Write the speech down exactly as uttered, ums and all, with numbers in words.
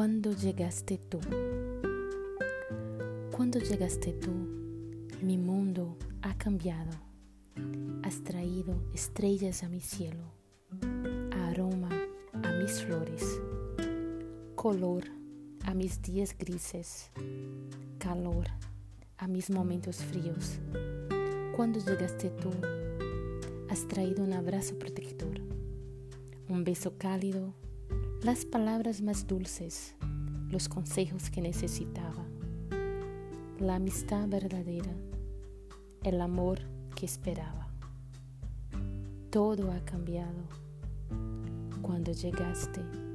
Cuando llegaste tú, cuando llegaste tú, mi mundo ha cambiado. Has traído estrellas a mi cielo, aroma a mis flores, color a mis días grises, calor a mis momentos fríos. Cuando llegaste tú, has traído un abrazo protector, un beso cálido, las palabras más dulces, los consejos que necesitaba, la amistad verdadera, el amor que esperaba. Todo ha cambiado cuando llegaste